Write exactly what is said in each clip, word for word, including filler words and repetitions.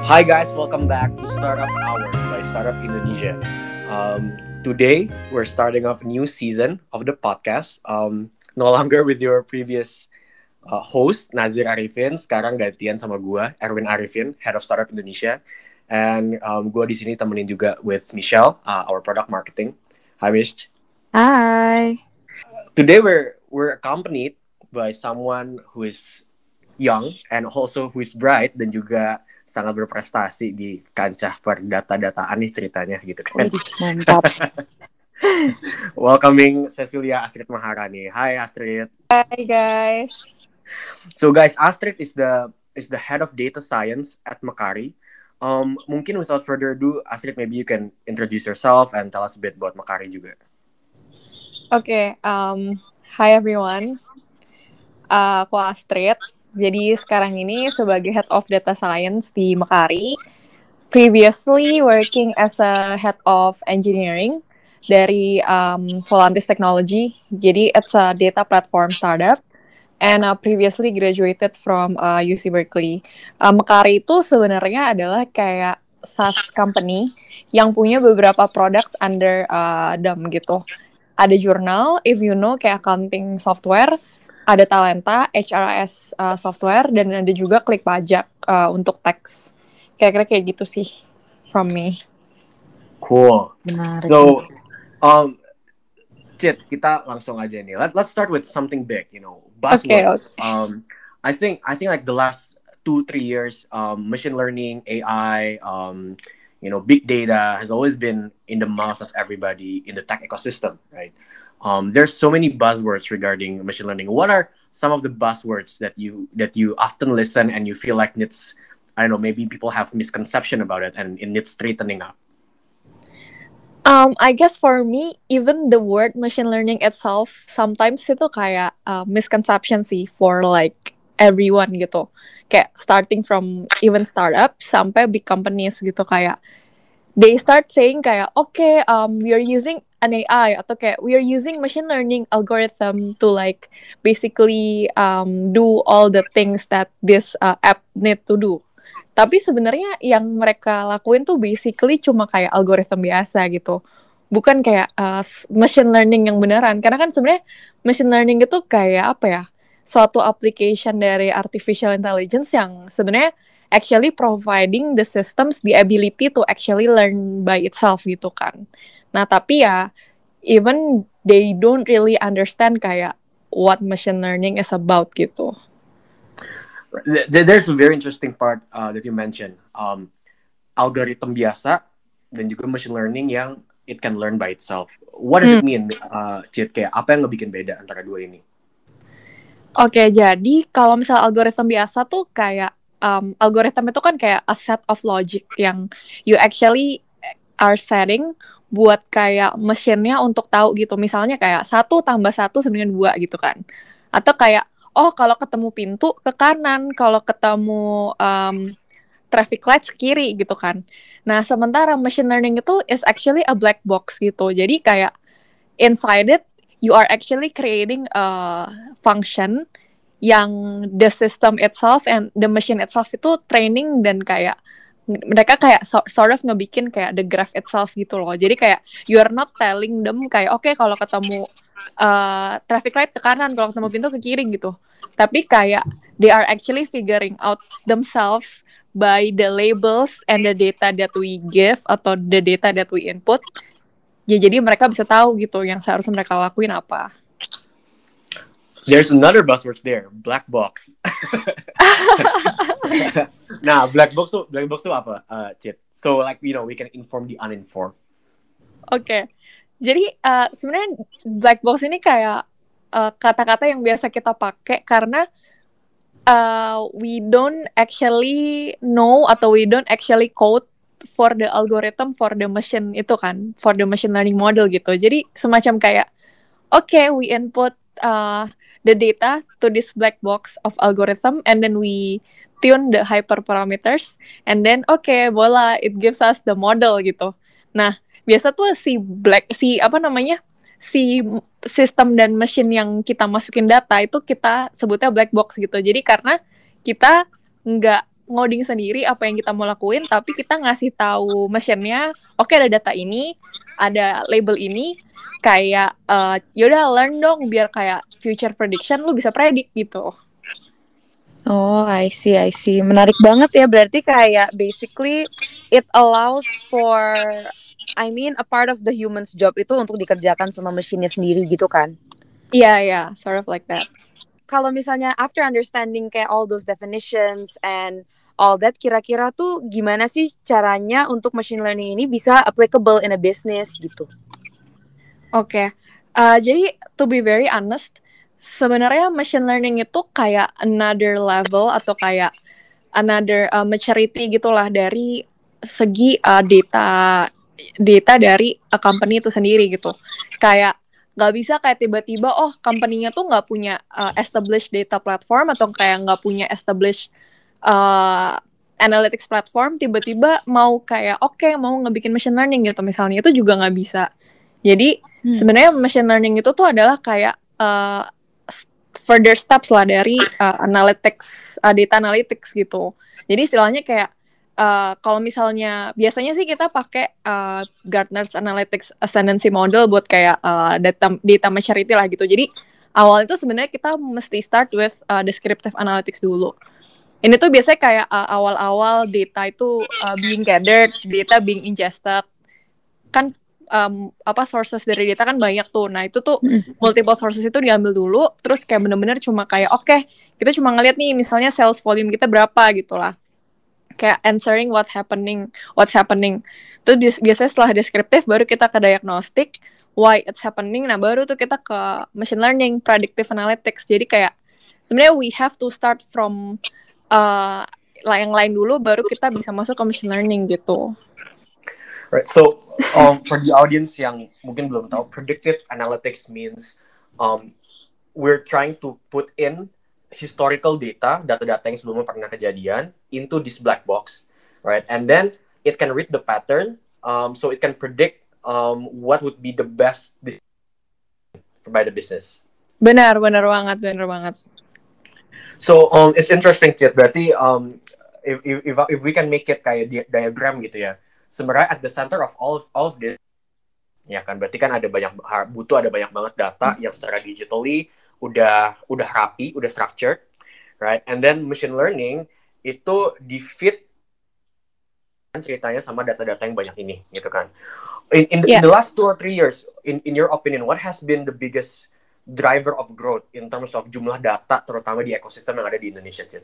Hi guys, welcome back to Startup Hour by Startup Indonesia. Um, today we're starting off a new season of the podcast. Um, no longer with your previous uh, host Nazir Arifin, sekarang gantian sama gua Erwin Arifin, Head of Startup Indonesia. And um, gua di sini temenin juga with Michelle, uh, our product marketing. Hi Mich. Hi. Today we're we're accompanied by someone who is young and also who is bright dan juga sangat berprestasi di kancah perdata-dataan nih ceritanya gitu kan. Widih, mantap. Welcoming Cecilia Astrid Maharani. Hi Astrid. Hi guys. So guys, Astrid is the is the head of data science at Mekari. Um, mungkin without further ado, Astrid, maybe you can introduce yourself and tell us a bit about Mekari juga. Oke, okay, um, hi everyone. Uh, aku Astrid. Jadi sekarang ini sebagai Head of Data Science di Mekari. Previously working as a Head of Engineering dari um, Volantis Technology. Jadi it's a data platform startup. And uh, previously graduated from uh, U C Berkeley. Uh, Mekari itu sebenarnya adalah kayak SaaS company yang punya beberapa products under uh, them gitu. Ada jurnal, if you know, kayak accounting software. Ada Talenta, H R S uh, software, dan ada juga Klik Pajak uh, untuk tax. Kira-kira kayak gitu sih from me. Cool. Menarik. So, um, Cit, kita langsung aja nih. Let, let's start with something big, you know, buzzwords. Okay, okay. Um, I think I think like the last two three years, um, machine learning, A I, um, you know, big data has always been in the mouth of everybody in the tech ecosystem, right? Um, there's so many buzzwords regarding machine learning. What are some of the buzzwords that you that you often listen and you feel like needs, I don't know, maybe people have misconception about it and it needs straightening up? Um, I guess for me, even the word machine learning itself sometimes itu kayak uh, misconception sih for like everyone gitu. Kayak starting from even startup sampai big companies gitu, kayak they start saying kayak okay, um, we are using an A I atau kayak we are using machine learning algorithm to like basically um, do all the things that this uh, app need to do. Tapi sebenarnya yang mereka lakuin tuh basically cuma kayak algoritma biasa gitu. Bukan kayak uh, machine learning yang beneran. Karena kan sebenarnya machine learning itu kayak apa ya? Suatu application dari artificial intelligence yang sebenarnya actually providing the systems the ability to actually learn by itself gitu kan. Nah, tapi ya even they don't really understand kayak what machine learning is about gitu. There's a very interesting part uh, that you mentioned. Um, algoritma biasa dan juga machine learning yang it can learn by itself. What does hmm. it mean, uh, Cit? Kayak apa yang ngebikin beda antara dua ini? Oke, okay, jadi kalau misal algoritma biasa tuh kayak um, algoritma itu kan kayak a set of logic yang you actually are setting buat kayak mesinnya untuk tahu gitu. Misalnya kayak satu tambah satu sebenarnya dua gitu kan. Atau kayak oh kalau ketemu pintu ke kanan, kalau ketemu um, traffic lights ke kiri gitu kan. Nah sementara machine learning itu is actually a black box gitu. Jadi kayak inside it you are actually creating a function yang the system itself and the machine itself itu training dan kayak mereka kayak so, sort of ngebikin kayak the graph itself gitu loh. Jadi kayak you are not telling them kayak oke okay, kalau ketemu uh, traffic light ke kanan, kalau ketemu pintu ke kiri gitu. Tapi kayak they are actually figuring out themselves by the labels and the data that we give atau the data that we input. Ya, jadi mereka bisa tahu gitu yang seharusnya mereka lakuin apa. There's another buzzword there, black box. Nah, black box tuh, black box tuh apa, uh, Cit? So like you know, we can inform the uninformed. Oke, okay. Jadi uh, sebenarnya black box ini kayak uh, kata-kata yang biasa kita pakai karena uh, we don't actually know atau we don't actually code for the algorithm for the machine itu kan, for the machine learning model gitu. Jadi semacam kayak oke, okay, we input uh, the data to this black box of algorithm and then we tune the hyperparameters and then oke, okay, voila, it gives us the model gitu. Nah, biasa tuh si black si apa namanya? si sistem dan mesin yang kita masukin data itu kita sebutnya black box gitu. Jadi karena kita nggak ngoding sendiri apa yang kita mau lakuin, tapi kita ngasih tahu mesinnya, oke okay, ada data ini, ada label ini, kayak uh, yaudah learn dong biar kayak future prediction lu bisa predict gitu. Oh, I see, I see. Menarik banget ya. Berarti kayak basically it allows for, I mean, a part of the human's job itu untuk dikerjakan sama mesinnya sendiri gitu kan? Iya, yeah, iya, yeah, sort of like that. Kalau misalnya after understanding kayak all those definitions and all that, kira-kira tuh gimana sih caranya untuk machine learning ini bisa applicable in a business gitu? Oke, okay. uh, jadi to be very honest, sebenarnya machine learning itu kayak another level atau kayak another uh, maturity gitulah dari segi uh, data data dari a company itu sendiri gitu. Kayak nggak bisa kayak tiba-tiba oh company-nya tuh nggak punya uh, established data platform atau kayak nggak punya established uh, analytics platform, tiba-tiba mau kayak oke okay, mau ngebikin machine learning gitu misalnya, itu juga nggak bisa. Jadi hmm. sebenarnya machine learning itu tuh adalah kayak uh, further steps lah dari uh, analytics, uh, data analytics gitu. Jadi istilahnya kayak uh, kalau misalnya biasanya sih kita pakai uh, Gartner's Analytics Ascendancy Model buat kayak uh, data data maturity lah gitu. Jadi awal itu sebenarnya kita mesti start with uh, descriptive analytics dulu. Ini tuh biasanya kayak uh, awal-awal data itu uh, being gathered, data being ingested. Kan Um, apa sources dari data kan banyak tuh. Nah itu tuh mm. multiple sources itu diambil dulu, terus kayak bener-bener cuma kayak oke okay, kita cuma ngeliat nih misalnya sales volume kita berapa gitu lah, kayak answering what's happening what's happening. Terus bi- biasanya setelah deskriptif baru kita ke diagnostic why it's happening. Nah baru tuh kita ke machine learning, predictive analytics. Jadi kayak sebenarnya we have to start from uh, yang lain dulu baru kita bisa masuk ke machine learning gitu. Right, so um, for the audience yang mungkin belum tahu, predictive analytics means um, we're trying to put in historical data, data-data yang sebelumnya pernah kejadian, into this black box, right? And then it can read the pattern, um, so it can predict um, what would be the best by the business. Benar, benar banget, benar banget. So um, it's interesting, Cid. Berarti um, if, if if we can make it kayak di- diagram gitu ya. Sebenarnya at the center of all of, all of this, ya kan, berarti kan ada banyak butuh ada banyak banget data yang secara digitally udah udah rapi, udah structured, right? And then machine learning itu di fit ceritanya sama data-data yang banyak ini, gitu kan? In in the, yeah. in the last two or three years, in in your opinion, what has been the biggest driver of growth in terms of jumlah data, terutama di ekosistem yang ada di Indonesia, Cid?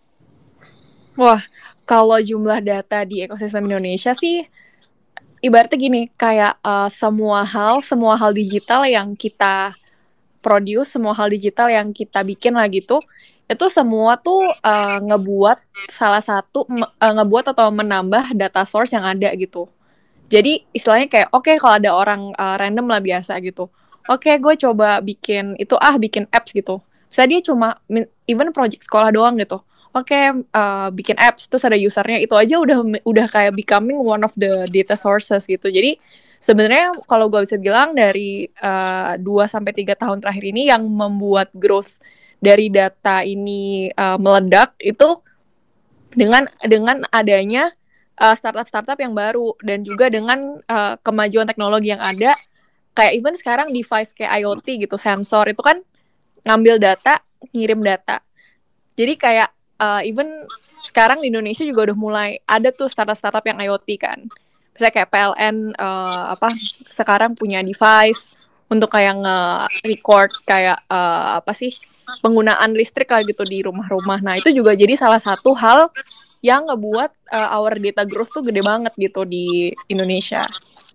Wah, kalau jumlah data di ekosistem Indonesia sih, ibaratnya gini, kayak uh, semua hal, semua hal digital yang kita produce, semua hal digital yang kita bikin lah gitu, itu semua tuh uh, ngebuat salah satu, uh, ngebuat atau menambah data source yang ada gitu. Jadi istilahnya kayak, oke okay, kalau ada orang uh, random lah biasa gitu, oke okay, gue coba bikin itu, ah bikin apps gitu. Misalnya dia cuma, even project sekolah doang gitu. Oke, okay, uh, bikin apps, terus ada usernya, itu aja udah udah kayak becoming one of the data sources gitu. Jadi sebenarnya kalau gue bisa bilang dari uh, dua sampai tiga tahun terakhir ini yang membuat growth dari data ini uh, meledak itu dengan dengan adanya uh, startup-startup yang baru dan juga dengan uh, kemajuan teknologi yang ada. Kayak even sekarang device kayak IoT gitu, sensor itu kan ngambil data, ngirim data. Jadi kayak Uh, even sekarang di Indonesia juga udah mulai ada tuh startup-startup yang IoT kan. Misalnya kayak P L N uh, apa sekarang punya device untuk kayak nge-record kayak uh, apa sih penggunaan listrik lah gitu di rumah-rumah. Nah, itu juga jadi salah satu hal yang ngebuat uh, our data growth tuh gede banget gitu di Indonesia.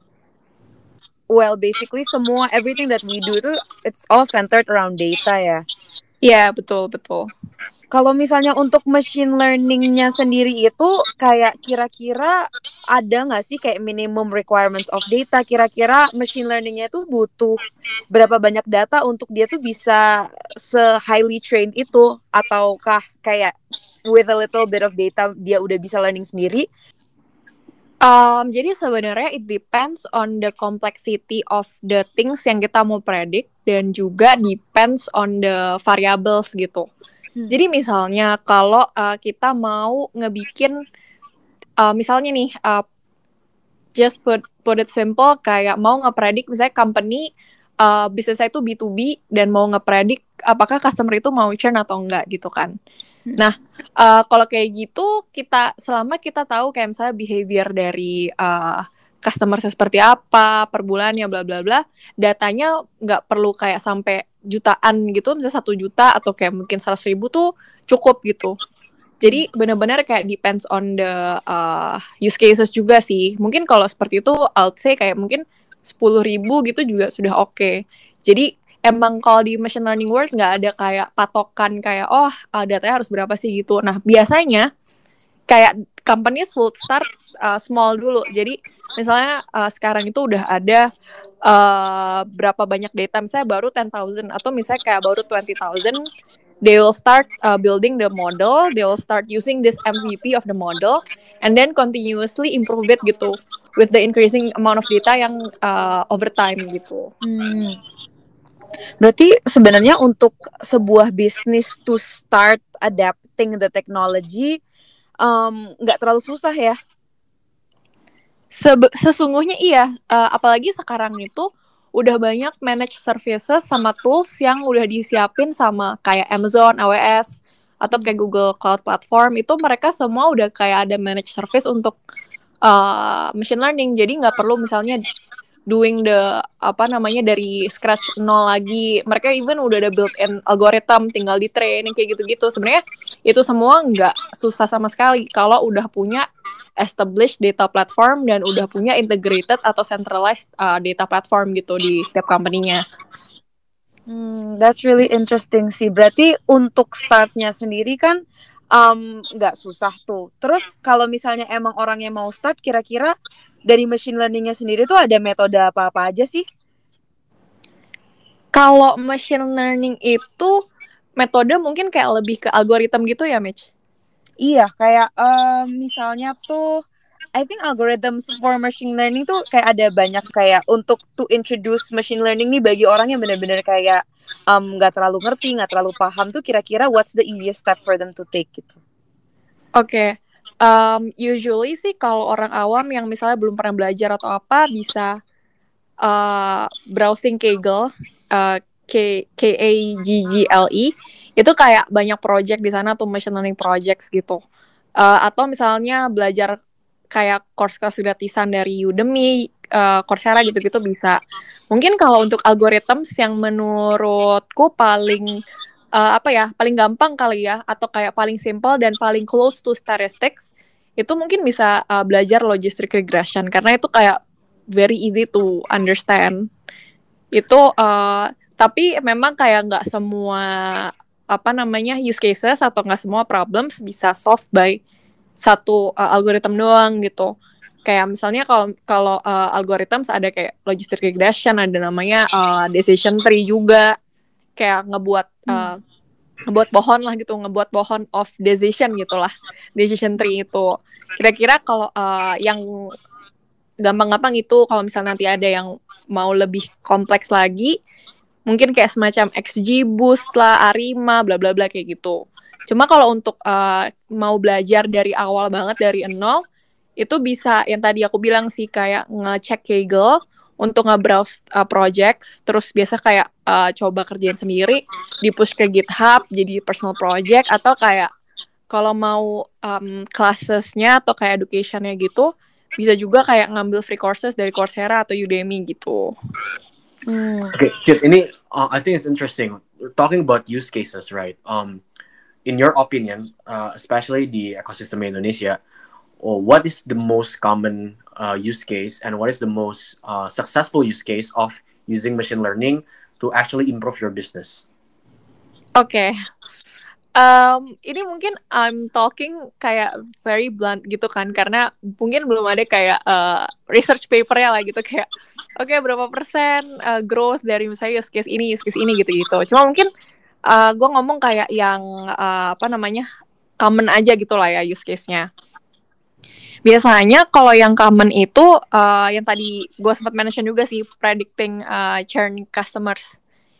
Well, basically semua everything that we do itu it's all centered around data ya. Iya, yeah, betul, betul. Kalau misalnya untuk machine learning-nya sendiri itu kayak kira-kira ada nggak sih kayak minimum requirements of data? Kira-kira machine learning-nya itu butuh berapa banyak data untuk dia tuh bisa se-highly trained itu? Ataukah kayak with a little bit of data dia udah bisa learning sendiri? Um, jadi sebenarnya it depends on the complexity of the things yang kita mau predict dan juga depends on the variables gitu. Hmm. Jadi misalnya kalau uh, kita mau ngebikin, uh, misalnya nih, uh, just put put it simple, kayak mau ngepredik misalnya company uh, bisnisnya itu B to B dan mau ngepredik apakah customer itu mau churn atau enggak gitu kan. Hmm. Nah, uh, kalau kayak gitu kita selama kita tahu kayak misalnya behavior dari uh, customer seperti apa per bulannya bla bla bla, datanya nggak perlu kayak sampai jutaan gitu, misalnya satu juta atau kayak mungkin seratus ribu tuh cukup gitu. Jadi benar-benar kayak depends on the uh, use cases juga sih. Mungkin kalau seperti itu, I'll say kayak mungkin sepuluh ribu gitu juga sudah oke. Okay. Jadi emang kalau di machine learning world nggak ada kayak patokan kayak oh uh, datanya harus berapa sih gitu. Nah biasanya kayak companies will start uh, small dulu. Jadi misalnya uh, sekarang itu udah ada uh, berapa banyak data, misalnya baru ten thousand atau misalnya kayak baru twenty thousand, they will start uh, building the model, they will start using this M V P of the model, and then continuously improve it gitu, with the increasing amount of data yang uh, over time gitu. Hmm. Berarti sebenarnya untuk sebuah bisnis to start adapting the technology nggak um, terlalu susah ya? Sebe- sesungguhnya iya, uh, apalagi sekarang itu udah banyak managed services sama tools yang udah disiapin sama kayak Amazon, A W S, atau kayak Google Cloud Platform, itu mereka semua udah kayak ada managed service untuk uh, machine learning, jadi nggak perlu misalnya doing the apa namanya dari scratch nol lagi. Mereka even udah ada built-in algorithm, tinggal di training kayak gitu-gitu. Sebenarnya itu semua nggak susah sama sekali kalau udah punya established data platform dan udah punya integrated atau centralized uh, data platform gitu di setiap company-nya. Hmm, that's really interesting sih. Berarti untuk startnya sendiri kan nggak um, susah tuh. Terus kalau misalnya emang orang yang mau start, kira-kira dari machine learning-nya sendiri tuh ada metode apa-apa aja sih? Kalau machine learning itu metode mungkin kayak lebih ke algoritma gitu ya, Mitch? Iya, kayak um, misalnya tuh I think algorithms for machine learning tuh kayak ada banyak kayak untuk to introduce machine learning nih bagi orang yang benar-benar kayak nggak um, terlalu ngerti, nggak terlalu paham tuh kira-kira what's the easiest step for them to take gitu. Oke, okay. um, usually sih kalau orang awam yang misalnya belum pernah belajar atau apa bisa uh, browsing Kaggle, uh, K K A G G L E, itu kayak banyak project di sana tuh machine learning projects gitu. Uh, atau misalnya belajar kayak course-course gratisan dari Udemy, uh, Coursera gitu-gitu bisa. Mungkin kalau untuk algorithms yang menurutku paling uh, apa ya, paling gampang kali ya, atau kayak paling simple dan paling close to statistics, itu mungkin bisa uh, belajar logistic regression karena itu kayak very easy to understand. Itu uh, tapi memang kayak nggak semua apa namanya use cases atau nggak semua problems bisa solved by satu uh, algoritma doang gitu. Kayak misalnya kalau kalau uh, algorithms ada kayak logistic regression, ada namanya uh, decision tree juga, kayak ngebuat uh, ngebuat pohon lah gitu, ngebuat pohon of decision gitulah, decision tree itu. Kira-kira kalau uh, yang gampang-gampang itu, kalau misalnya nanti ada yang mau lebih kompleks lagi, mungkin kayak semacam X G Boost lah, Arima, bla bla bla kayak gitu. Cuma kalau untuk uh, mau belajar dari awal banget dari nol, itu bisa yang tadi aku bilang sih kayak ngecek Kaggle untuk nge-browse uh, projects, terus biasa kayak uh, coba kerjain sendiri, di-push ke GitHub jadi personal project, atau kayak kalau mau um, classes-nya atau kayak education-nya gitu, bisa juga kayak ngambil free courses dari Coursera atau Udemy gitu. Hmm. Okay, Cid, ini uh, I think it's interesting. We're talking about use cases, right? Um, in your opinion, uh, especially di ekosistem Indonesia, or what is the most common uh, use case and what is the most uh, successful use case of using machine learning to actually improve your business? Oke, okay. um, ini mungkin I'm talking kayak very blunt gitu kan, karena mungkin belum ada kayak uh, research papernya lah gitu kayak, oke okay, berapa persen uh, growth dari misalnya use case ini, use case ini gitu-gitu. Cuma mungkin uh, gue ngomong kayak yang uh, apa namanya common aja gitu lah ya use case-nya. Biasanya kalau yang common itu uh, yang tadi gue sempat mention juga sih, predicting uh, churn customers.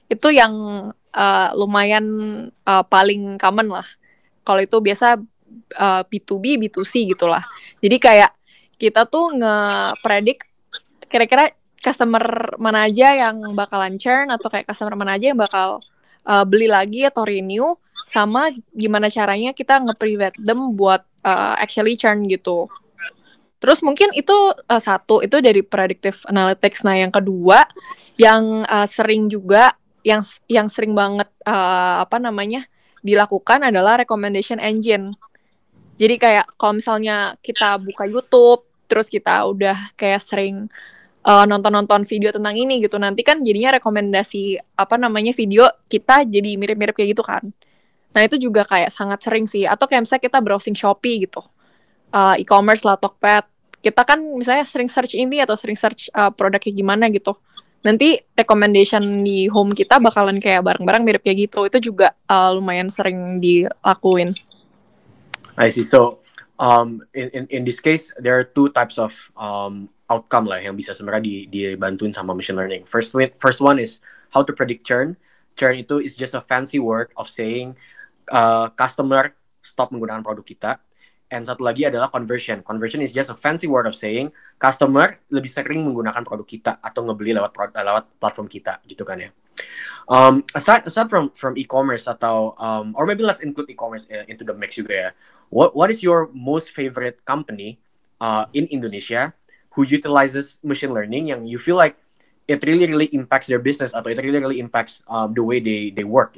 Itu yang uh, lumayan uh, paling common lah. Kalau itu biasa uh, B to B, B to C gitulah. Jadi kayak kita tuh nge-predict kira-kira customer mana aja yang bakalan churn atau kayak customer mana aja yang bakal uh, beli lagi atau renew, sama gimana caranya kita nge-prevent them buat uh, actually churn gitu. Terus mungkin itu uh, satu, itu dari predictive analytics. Nah yang kedua, yang uh, sering juga, yang yang sering banget uh, apa namanya dilakukan adalah recommendation engine. Jadi kayak kalau misalnya kita buka YouTube, terus kita udah kayak sering uh, nonton-nonton video tentang ini gitu, nanti kan jadinya rekomendasi apa namanya video kita jadi mirip-mirip kayak gitu kan. Nah itu juga kayak sangat sering sih. Atau kayak misalnya kita browsing Shopee gitu, uh, e-commerce lah, Tokped, kita kan misalnya sering search ini atau sering search uh, produknya gimana gitu, nanti recommendation di home kita bakalan kayak barang-barang mirip kayak gitu. Itu juga uh, lumayan sering dilakuin. I see. So um, in, in in this case there are two types of um, outcome lah yang bisa sebenarnya di dibantuin sama machine learning. First one, first one is how to predict churn. Churn itu is just a fancy word of saying uh, customer stop menggunakan produk kita. And satu lagi adalah conversion. Conversion is just a fancy word of saying customer lebih sering menggunakan produk kita atau ngebeli lewat lewat platform kita gitu kan ya. Um, aside aside from from e-commerce atau um, or maybe let's include e-commerce uh, into the mix juga ya. What what is your most favorite company uh, in Indonesia who utilizes machine learning yang you feel like it really really impacts their business atau it really really impacts um, the way they they work?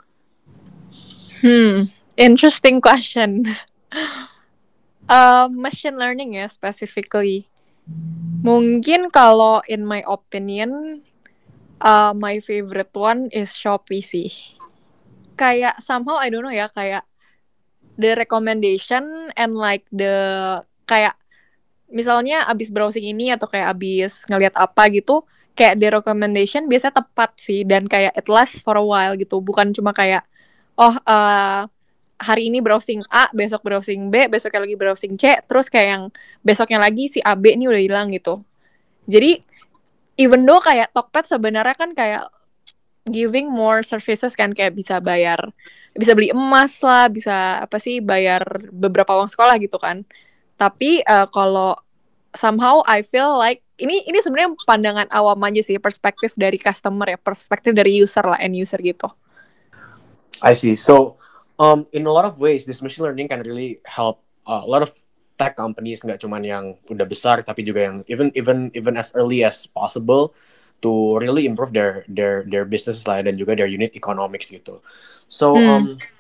Hmm, interesting question. uh, machine learning ya specifically. Mungkin kalau in my opinion, uh, my favorite one is Shopee sih. Kayak somehow I don't know ya, kayak the recommendation and like the kayak misalnya abis browsing ini atau kayak abis ngeliat apa gitu, kayak the recommendation biasanya tepat sih, dan kayak it lasts for a while gitu. Bukan cuma kayak oh uh, hari ini browsing A, besok browsing B, besoknya lagi browsing C, terus kayak yang besoknya lagi si A B ini udah hilang gitu. Jadi even though kayak Tokped sebenarnya kan kayak giving more services kan, kayak bisa bayar, bisa beli emas lah, bisa apa sih bayar beberapa uang sekolah gitu kan. Tapi uh, kalau somehow I feel like ini ini sebenarnya pandangan awam aja sih, perspektif dari customer ya, perspektif dari user lah, end user gitu. I see. So um, in a lot of ways this machine learning can really help uh, a lot of tech companies, nggak cuman yang udah besar tapi juga yang even even even as early as possible to really improve their their their business lah dan juga their unit economics gitu. So Hmm. um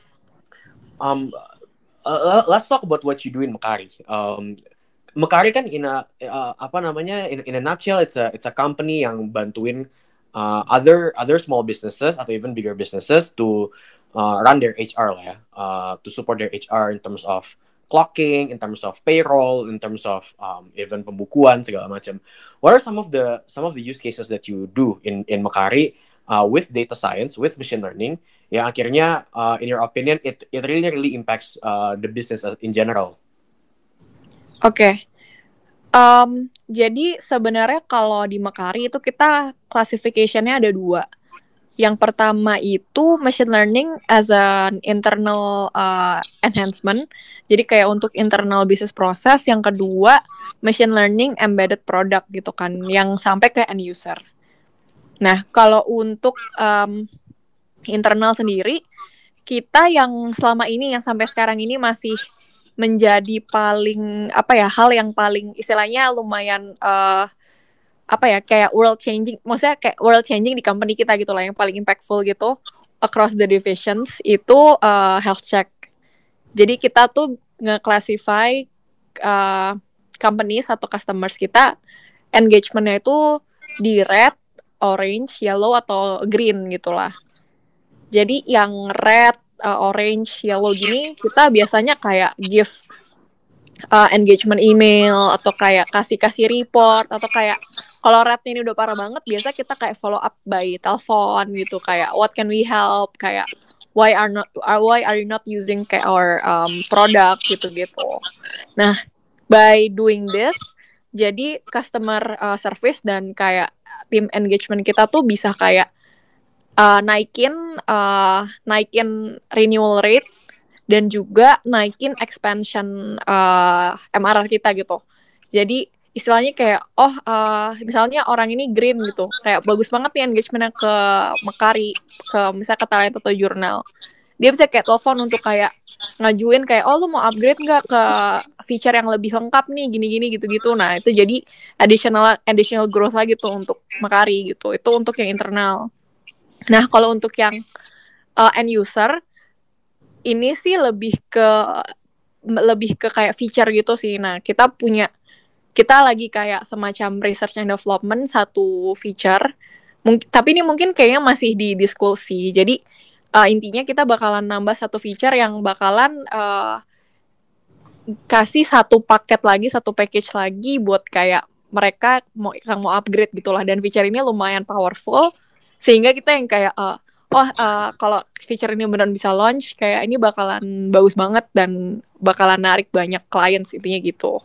um uh, let's talk about what you do in Mekari. Um, Mekari kan in a uh, apa namanya in, in a nutshell it's a it's a company yang bantuin uh, other other small businesses atau even bigger businesses to uh, run their H R lah ya, uh, to support their H R in terms of clocking, in terms of payroll, in terms of um, even pembukuan segala macam. What are some of the some of the use cases that you do in in Mekari uh, with data science, with machine learning, yang akhirnya uh, in your opinion it it really really impacts uh, the business in general? Oke, okay. um, jadi sebenarnya kalau di Mekari itu kita classification-nya ada dua. Yang pertama itu machine learning as an internal uh, enhancement, jadi kayak untuk internal business process. Yang kedua machine learning embedded product gitu kan, yang sampai ke end user. Nah kalau untuk um, internal sendiri, kita yang selama ini, yang sampai sekarang ini masih menjadi paling apa ya, hal yang paling istilahnya lumayan uh, apa ya, kayak world changing, maksudnya kayak world changing di company kita gitu lah, yang paling impactful gitu across the divisions itu uh, health check. Jadi kita tuh nge-classify uh, companies atau customers kita engagement-nya itu di red, orange, yellow atau green gitulah. Jadi yang red, uh, orange, yellow gini kita biasanya kayak give uh, engagement email atau kayak kasih-kasih report, atau kayak kalau rednya ini udah parah banget biasa kita kayak follow up by telepon gitu, kayak what can we help, kayak why are not why are you not using kayak our um, product gitu-gitu. Nah by doing this, jadi customer uh, service dan kayak tim engagement kita tuh bisa kayak uh, naikin uh, naikin renewal rate dan juga naikin expansion uh, M R R kita gitu. Jadi istilahnya kayak oh uh, misalnya orang ini green gitu, kayak bagus banget nih engagementnya ke Mercari, ke misalnya ke talent atau jurnal. Dia bisa kayak telepon untuk kayak ngajuin kayak oh lu mau upgrade nggak ke feature yang lebih lengkap nih gini-gini gitu-gitu. Nah itu jadi additional additional growth lagi tuh untuk Mercari gitu. Itu untuk yang internal. Nah kalau untuk yang uh, end user ini sih lebih ke lebih ke kayak feature gitu sih. Nah kita punya kita lagi kayak semacam research and development satu feature. Mungkin, tapi ini mungkin kayaknya masih di diskusi. Jadi uh, intinya kita bakalan nambah satu feature yang bakalan uh, kasih satu paket lagi, satu package lagi buat kayak mereka mau yang mau upgrade gitulah. Dan feature ini lumayan powerful sehingga kita yang kayak uh, oh uh, kalau feature ini beneran bisa launch kayak ini bakalan bagus banget dan bakalan narik banyak klien intinya gitu.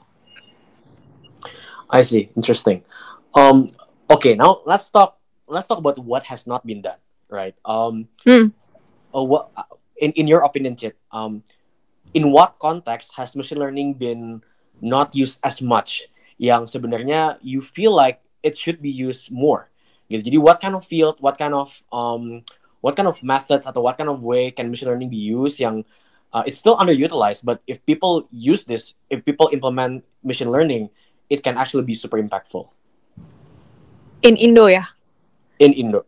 I see. Interesting. Um, okay, now let's talk. Let's talk about what has not been done, right? Um, hmm. uh, what in in your opinion, Chit? Um, in what context has machine learning been not used as much? Yang sebenarnya you feel like it should be used more. Gitu. Jadi, what kind of field, what kind of um, what kind of methods atau what kind of way can machine learning be used? Yang uh, it's still underutilized, but if people use this, if people implement machine learning, it can actually be super impactful. In Indo ya? In Indo.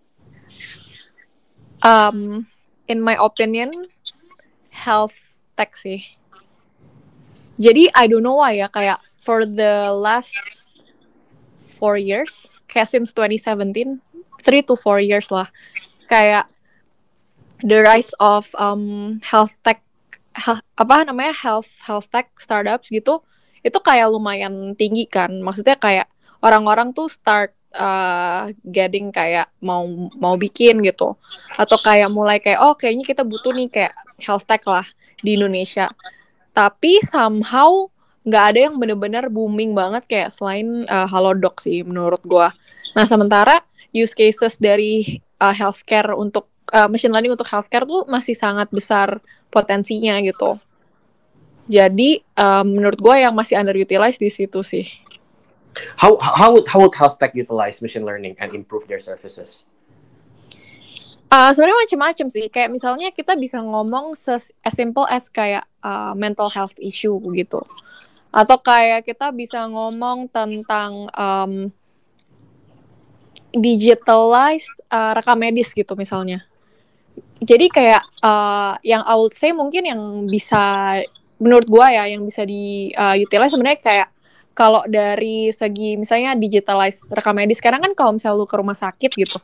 Um, in my opinion, health tech sih. Jadi I don't know why ya, kayak for the last four years, kayak since twenty seventeen, three to four years lah, kayak the rise of um, health tech, ha, apa namanya health health tech startups gitu. Itu kayak lumayan tinggi kan, maksudnya kayak orang-orang tuh start uh, getting kayak mau mau bikin gitu, atau kayak mulai kayak oh kayaknya kita butuh nih kayak health tech lah di Indonesia, tapi somehow nggak ada yang bener-bener booming banget kayak selain uh, Halodoc sih menurut gue. Nah sementara use cases dari uh, healthcare untuk uh, machine learning untuk healthcare tuh masih sangat besar potensinya gitu. Jadi um, menurut gue yang masih underutilized di situ sih. How how would how would health tech utilize machine learning and improve their services? Uh, sebenarnya macam-macam sih. Kayak misalnya kita bisa ngomong ses- as simple as kayak uh, mental health issue gitu. Atau kayak kita bisa ngomong tentang um, digitalized uh, rekam medis gitu misalnya. Jadi kayak uh, yang I would say mungkin yang bisa menurut gue ya yang bisa di uh, utilize sebenarnya kayak kalau dari segi misalnya digitalize rekam medis. Sekarang kan kalau misalnya lu ke rumah sakit gitu,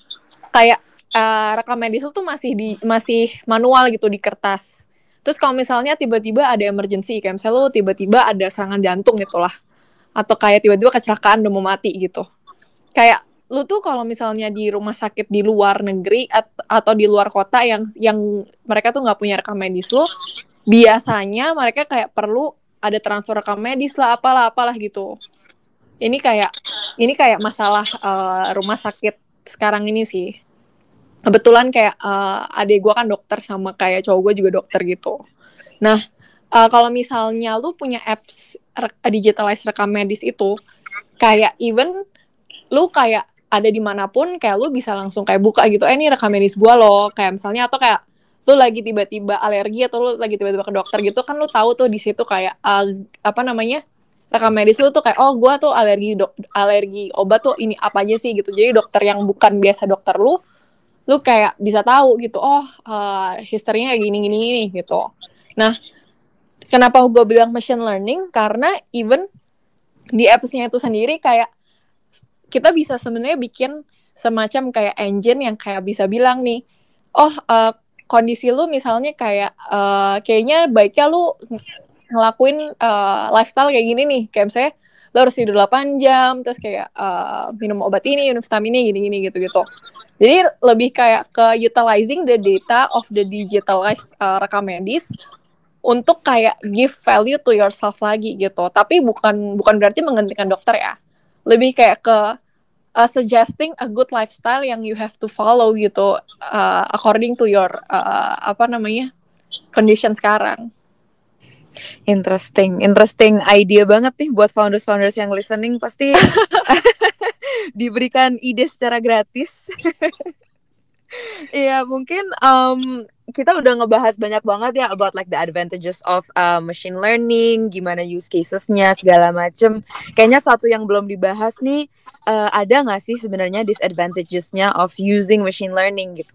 kayak uh, rekam medis lu tuh masih di masih manual gitu di kertas. Terus kalau misalnya tiba-tiba ada emergency, kayak misalnya lu tiba-tiba ada serangan jantung gitu lah, atau kayak tiba-tiba kecelakaan udah mau mati gitu, kayak lu tuh kalau misalnya di rumah sakit di luar negeri at- atau di luar kota yang yang mereka tuh nggak punya rekam medis lu, biasanya mereka kayak perlu ada transfer rekam medis lah apalah apalah gitu. Ini kayak ini kayak masalah uh, rumah sakit sekarang ini sih. Kebetulan kayak uh, adik gue kan dokter sama kayak cowok gue juga dokter gitu. Nah uh, kalau misalnya lu punya apps re- digitalize rekam medis itu, kayak even lu kayak ada dimanapun kayak lu bisa langsung kayak buka gitu, eh ini rekam medis gue loh, kayak misalnya atau kayak lu lagi tiba-tiba alergi atau lu lagi tiba-tiba ke dokter gitu kan lu tahu tuh di situ kayak uh, apa namanya rekam medis lu tuh kayak oh gue tuh alergi dok alergi obat tuh ini apa aja sih gitu. Jadi dokter yang bukan biasa dokter lu lu kayak bisa tahu gitu oh uh, historinya kayak gini gini gini gitu. Nah kenapa gue bilang machine learning, karena even di apps-nya itu sendiri kayak kita bisa sebenarnya bikin semacam kayak engine yang kayak bisa bilang nih, oh uh, kondisi lu misalnya kayak uh, kayaknya baiknya lu ngelakuin uh, lifestyle kayak gini nih, kayak misalnya lu harus tidur delapan jam, terus kayak uh, minum obat ini, minum vitamin ini, gini-gini gitu-gitu. Jadi lebih kayak ke utilizing the data of the digitalized uh, rekam medis untuk kayak give value to yourself lagi gitu. Tapi bukan bukan berarti menggantikan dokter ya. Lebih kayak ke uh, suggesting a good lifestyle yang you have to follow gitu, uh, according to your uh, apa namanya condition sekarang. Interesting, interesting idea banget nih buat founders-founders yang listening, pasti diberikan ide secara gratis. Iya, mungkin um, kita udah ngebahas banyak banget ya about like the advantages of uh, machine learning, gimana use casesnya segala macem. Kayaknya satu yang belum dibahas nih, uh, ada nggak sih sebenarnya disadvantages-nya of using machine learning gitu?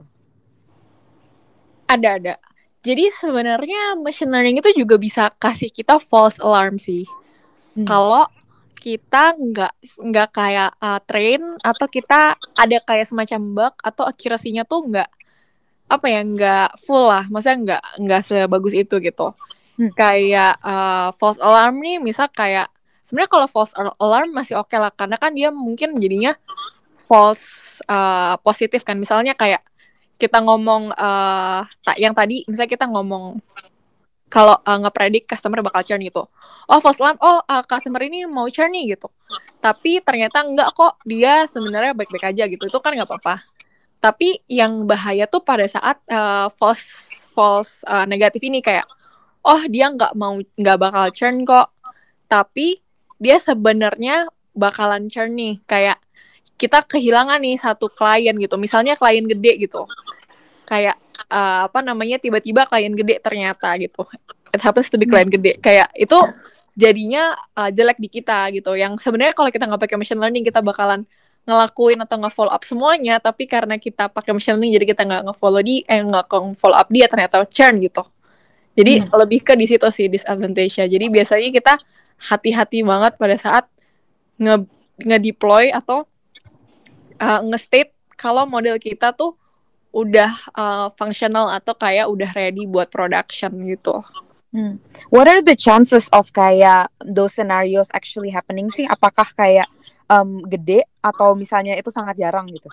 Ada ada. Jadi sebenarnya machine learning itu juga bisa kasih kita false alarm sih. Hmm. Kalau kita nggak nggak kayak uh, train atau kita ada kayak semacam bug atau accuracy-nya tuh nggak apa ya nggak full lah, maksudnya nggak nggak sebagus itu gitu. Hmm. Kayak uh, false alarm nih, misal kayak sebenarnya kalau false alarm masih oke okay lah, karena kan dia mungkin jadinya false uh, positif kan. Misalnya kayak kita ngomong uh, yang tadi, misalnya kita ngomong kalau uh, ngepredik customer bakal churn gitu. Oh, false alarm, oh uh, customer ini mau churn nih gitu. Tapi ternyata enggak kok, dia sebenarnya baik-baik aja gitu. Itu kan nggak apa-apa. Tapi yang bahaya tuh pada saat uh, false false uh, negatif ini kayak, oh dia nggak mau nggak bakal churn kok. Tapi dia sebenarnya bakalan churn nih. Kayak kita kehilangan nih satu klien gitu. Misalnya klien gede gitu. Kayak uh, apa namanya tiba-tiba klien gede ternyata gitu, it happens to be klien gede, kayak itu jadinya uh, jelek di kita gitu, yang sebenarnya kalau kita nggak pakai machine learning kita bakalan ngelakuin atau nge-follow up semuanya, tapi karena kita pakai machine learning jadi kita nggak nge-follow di eh nggak nge-follow up dia, ternyata churn gitu. Jadi hmm. lebih ke di situ sih disadvantage-nya. Jadi biasanya kita hati-hati banget pada saat nge nge-deploy atau uh, nge-state kalau model kita tuh udah uh, functional atau kayak udah ready buat production gitu. Hmm. What are the chances of kayak those scenarios actually happening sih? Apakah kayak um, gede atau misalnya itu sangat jarang gitu?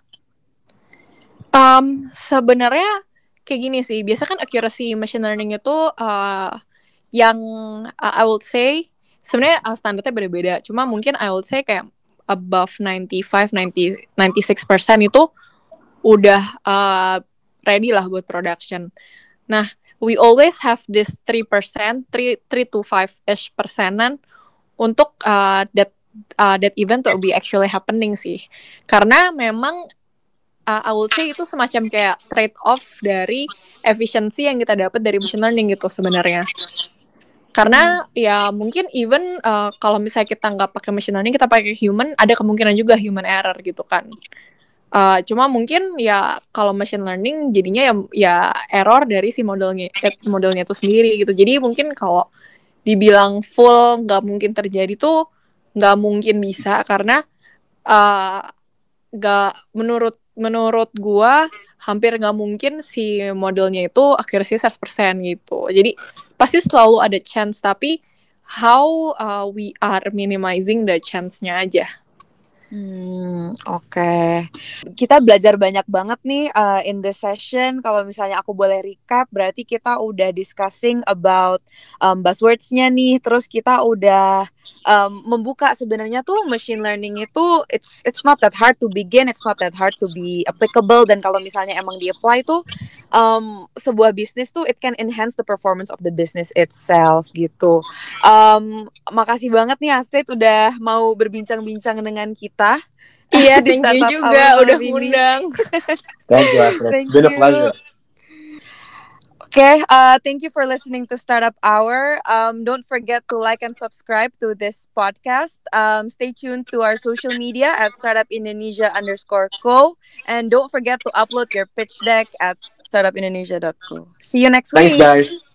Um, sebenarnya kayak gini sih. Biasa kan accuracy machine learning itu uh, yang uh, I would say sebenarnya uh, standarnya beda-beda. Cuma mungkin I would say kayak above ninety-five, ninety, ninety-six percent itu udah uh, ready lah buat production. Nah, we always have this three percent, three to five-ish persenan untuk uh, that uh, that event to be actually happening sih. Karena memang uh, I would say itu semacam kayak trade-off dari efficiency yang kita dapat dari machine learning gitu sebenarnya. Karena ya mungkin even uh, kalau misalnya kita nggak pakai machine learning, kita pakai human, ada kemungkinan juga human error gitu kan. Uh, cuma mungkin ya kalau machine learning jadinya ya, ya error dari si modelnya eh, modelnya itu sendiri gitu. Jadi mungkin kalau dibilang full nggak mungkin terjadi tuh nggak mungkin bisa, karena uh, nggak menurut menurut gua hampir nggak mungkin si modelnya itu accuracy seratus persen gitu. Jadi pasti selalu ada chance, tapi how uh, we are minimizing the chance-nya aja. Hmm, oke. Okay. Kita belajar banyak banget nih uh, in this session. Kalau misalnya aku boleh recap, berarti kita udah discussing about um, buzzwords-nya nih. Terus kita udah um, membuka sebenarnya tuh machine learning itu it's it's not that hard to begin, it's not that hard to be applicable. Dan kalau misalnya emang di-apply tuh um, sebuah bisnis tuh it can enhance the performance of the business itself gitu. Um, makasih banget nih Astrid udah mau berbincang-bincang dengan kita. Iya, thank you juga udah ngundang. Thank you, Astrid. It's been a pleasure. Okay, uh, thank you for listening to Startup Hour. Um, don't forget to like and subscribe to this podcast. Um, stay tuned to our social media at Startup Indonesia underscore co. And don't forget to upload your pitch deck at startup indonesia dot co. See you next Thanks, week. Thanks, guys.